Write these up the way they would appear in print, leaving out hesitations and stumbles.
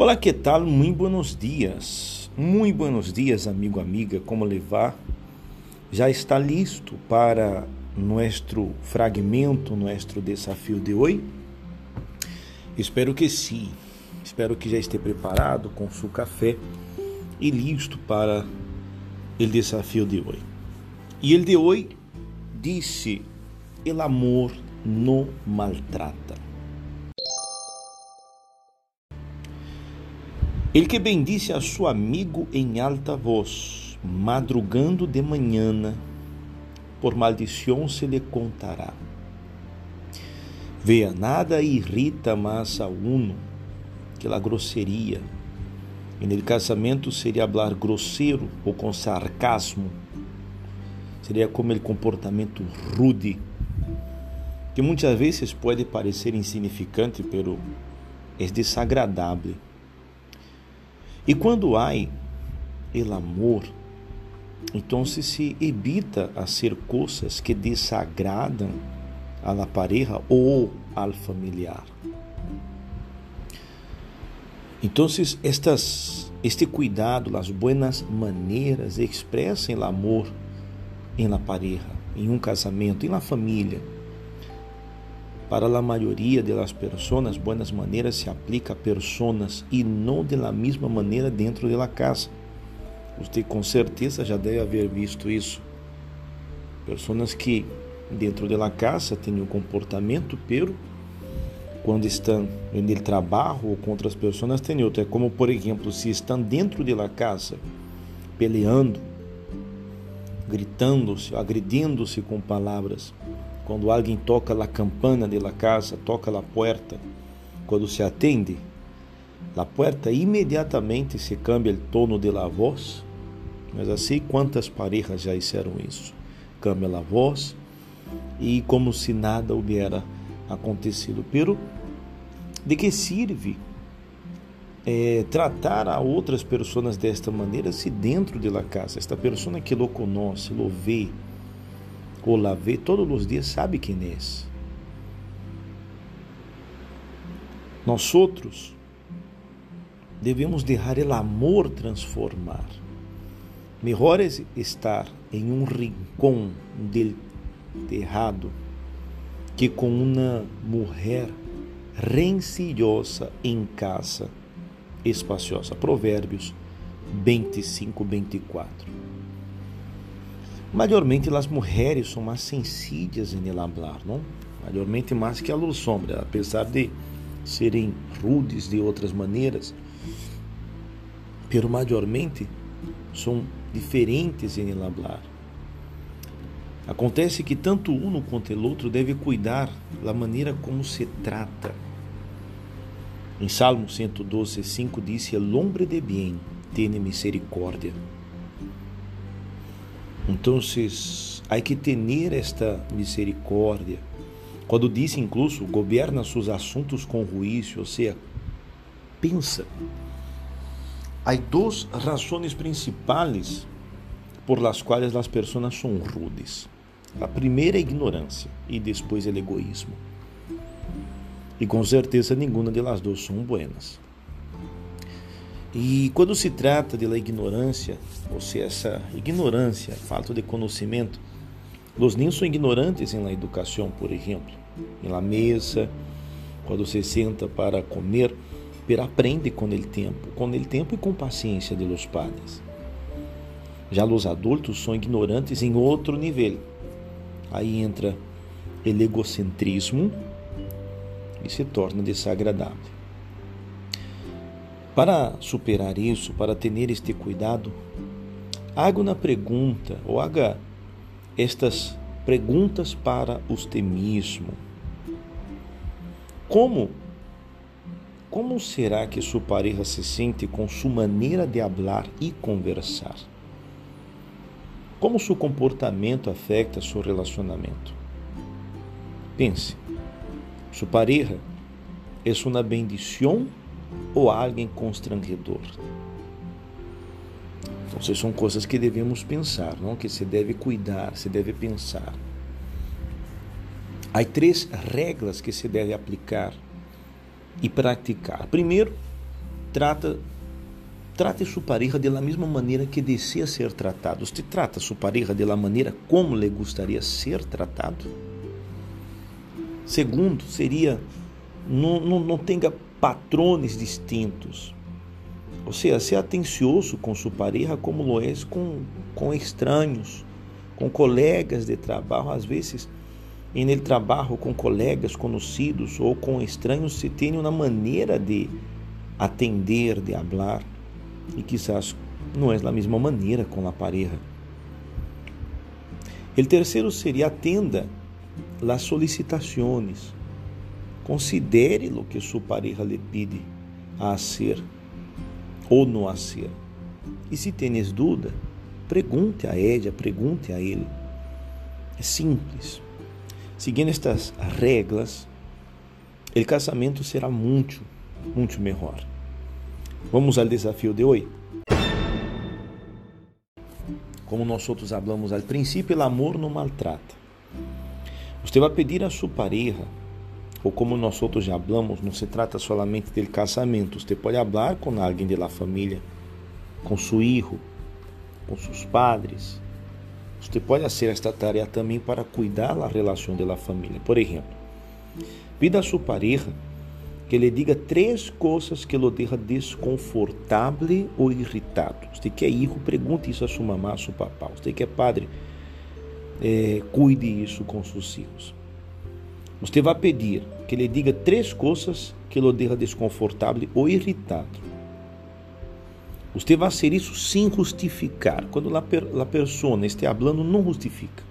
Olá, que tal? Muy buenos dias. Muy buenos dias, amigo, amiga. Como le va? Já está listo para nosso fragmento, nosso desafio de hoje? Espero que sim. Espero que já esteja preparado com seu café e listo para o desafio de hoje. E el de hoje disse: "El amor no maltrata". Ele que bendice a seu amigo em alta voz, madrugando de manhã, por maldição se lhe contará. Vea, nada irrita mais a uno que a grosseria. E no casamento seria falar grosseiro ou com sarcasmo. Seria como o comportamento rude, que muitas vezes pode parecer insignificante, pero é desagradável. E quando há o amor, então se evita fazer coisas que desagradam a la pareja ou al familiar. Então, este cuidado, as buenas maneiras expressam o amor em la pareja, em casamento, em la família. Para a maioria das pessoas, buenas maneiras se aplica a pessoas e não de la mesma maneira dentro de la casa. Você com certeza já deve haver visto isso. Pessoas que dentro de la casa têm um comportamento, pero quando estão no trabalho ou com outras pessoas têm outro. É como, por exemplo, se estão dentro de la casa peleando, gritando-se, agredindo-se com palavras. Quando alguém toca a campana de la casa, toca a porta, quando se atende, a porta imediatamente se cambia o tono de la voz. Mas assim, quantas parejas já fizeram isso? Cambia a voz e como se nada houvera acontecido. Pero de que serve tratar a outras pessoas desta maneira se dentro de la casa, esta pessoa que lo conoce, lo vê, ou la vê todos os dias, sabe quem é? Nós outros devemos deixar o amor transformar. Melhor é estar em um rincão del terrado que com uma mulher rencillosa em casa espaciosa. Provérbios 25:24. Maiormente as mulheres são mais sensíveis em hablar, não? Maiormente mais que a luz sombra, apesar de serem rudes de outras maneiras, pero maiormente são diferentes em hablar. Acontece que tanto um quanto o outro deve cuidar da maneira como se trata. Em Salmo 112:5 diz: "El hombre de bien tiene misericordia". Então, há que ter esta misericórdia. Quando diz incluso, governa seus assuntos com juízo, ou seja, pensa. Há duas razões principais por las quais as pessoas são rudes. A primeira é a ignorância e depois o egoísmo. E com certeza nenhuma delas duas são buenas. E quando se trata da ignorância, ou seja, essa ignorância, falta de conhecimento, os niños são ignorantes em la educação, por exemplo, em la mesa, quando se senta para comer, pero aprende com o tempo e com paciência de los padres. Já os adultos são ignorantes em outro nível. Aí entra o egocentrismo e se torna desagradável. Para superar isso, para ter este cuidado, haga uma pergunta ou haga estas perguntas para você mesmo. Como será que sua pareja se sente com sua maneira de falar e conversar? Como seu comportamento afeta seu relacionamento? Pense, sua pareja é uma bendição ou alguém constrangedor? Então, são coisas que devemos pensar, não? Que se deve cuidar, se deve pensar. Há 3 regras que se deve aplicar e praticar. Primeiro, trate sua pareja da mesma maneira que deseja ser tratado. Você trata sua pareja da maneira como lhe gostaria ser tratado? Segundo, seria não tenha patrões distintos. Ou seja, ser atencioso com sua pareja como lo é com estranhos, com colegas de trabalho. Às vezes, em el trabalho, com colegas conhecidos ou com estranhos, se tem uma maneira de atender, de falar, e quizás não é a mesma maneira com a pareja. O terceiro seria: atenda as solicitações. Considere o que sua pareja lhe pede a fazer ou não a fazer. E se tens dúvida, pergunte a ela, pergunte a ele. É simples. Seguindo estas regras, o casamento será muito melhor. Vamos ao desafio de hoje. Como nós falamos ao princípio, o amor não maltrata. Você vai pedir a sua pareja, ou como nós já falamos, não se trata solamente do casamento. Você pode falar com alguém da família, com seu filho, com seus padres. Você pode fazer esta tarefa também para cuidar da relação da família. Por exemplo, pida a sua pareja que lhe diga 3 coisas que lo deixa desconfortável ou irritado. Você que é filho, pergunte isso a sua mamá, a seu papá. Você que é padre, cuide isso com seus filhos. Você vai pedir que lhe diga 3 coisas que lo deixa desconfortável ou irritado. Você vai fazer isso sem justificar. Quando a pessoa está falando, não justifica.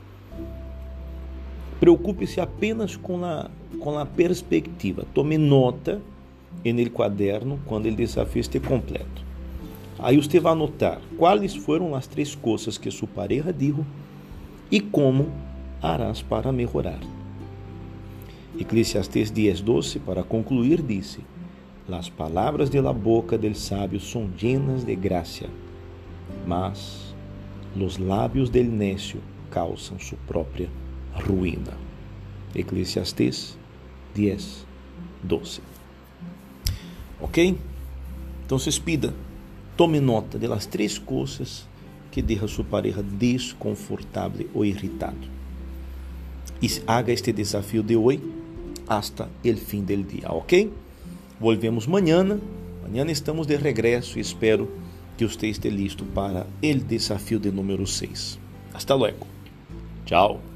Preocupe-se apenas com a perspectiva. Tome nota no caderno quando o desafio estiver completo. Aí você vai anotar quais foram as 3 coisas que sua pareja disse e como harás para melhorar. Eclesiastés 10:12, para concluir, disse: Las palavras de la boca del sabio son llenas de gracia, mas los labios del necio causam su própria ruína. Eclesiastés 10:12. Ok? Então, pida, tome nota das 3 coisas que deixam sua pareja desconfortável ou irritado. E haga este desafio de hoje hasta el fin del dia, ok? Volvemos mañana. Mañana estamos de regresso e espero que você esteja listo para o desafio de número 6. Hasta luego. Tchau.